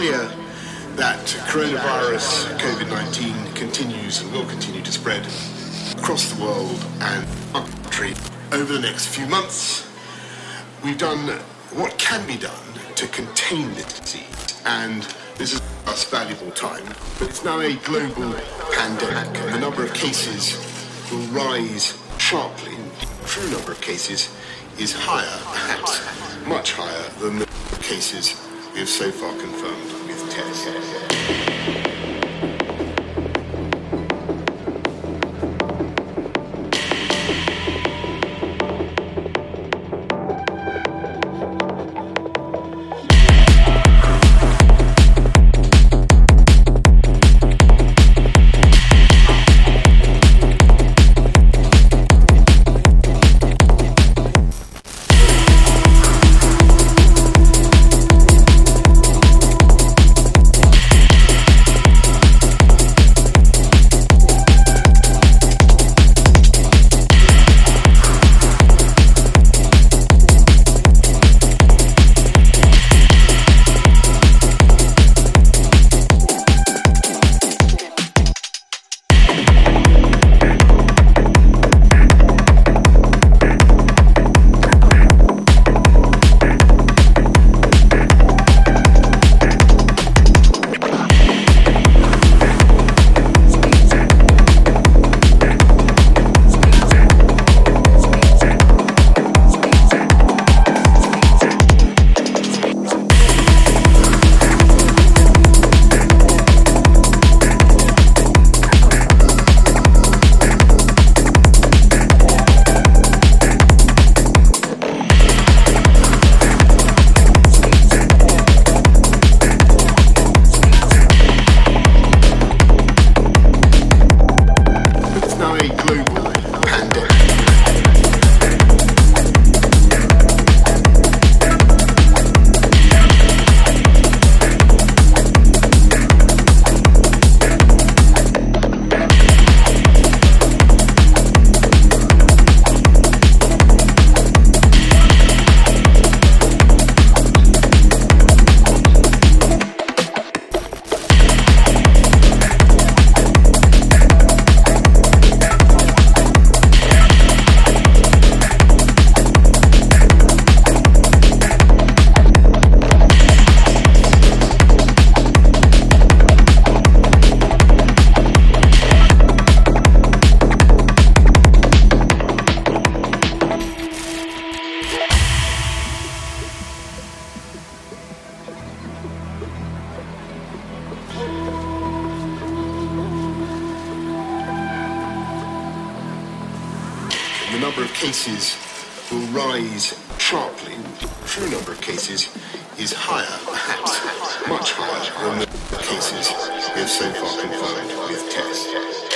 clear that coronavirus, COVID-19, continues and will continue to spread across the world and our country over the next few months. We've done what can be done to contain this disease, and this is a valuable time, but it's now a global pandemic, and the number of cases will rise sharply. The true number of cases is higher, perhaps much higher than the cases we have so far confirmed with tests. The number of cases will rise sharply. The true number of cases is higher, perhaps much higher than the cases we have so far confirmed with tests.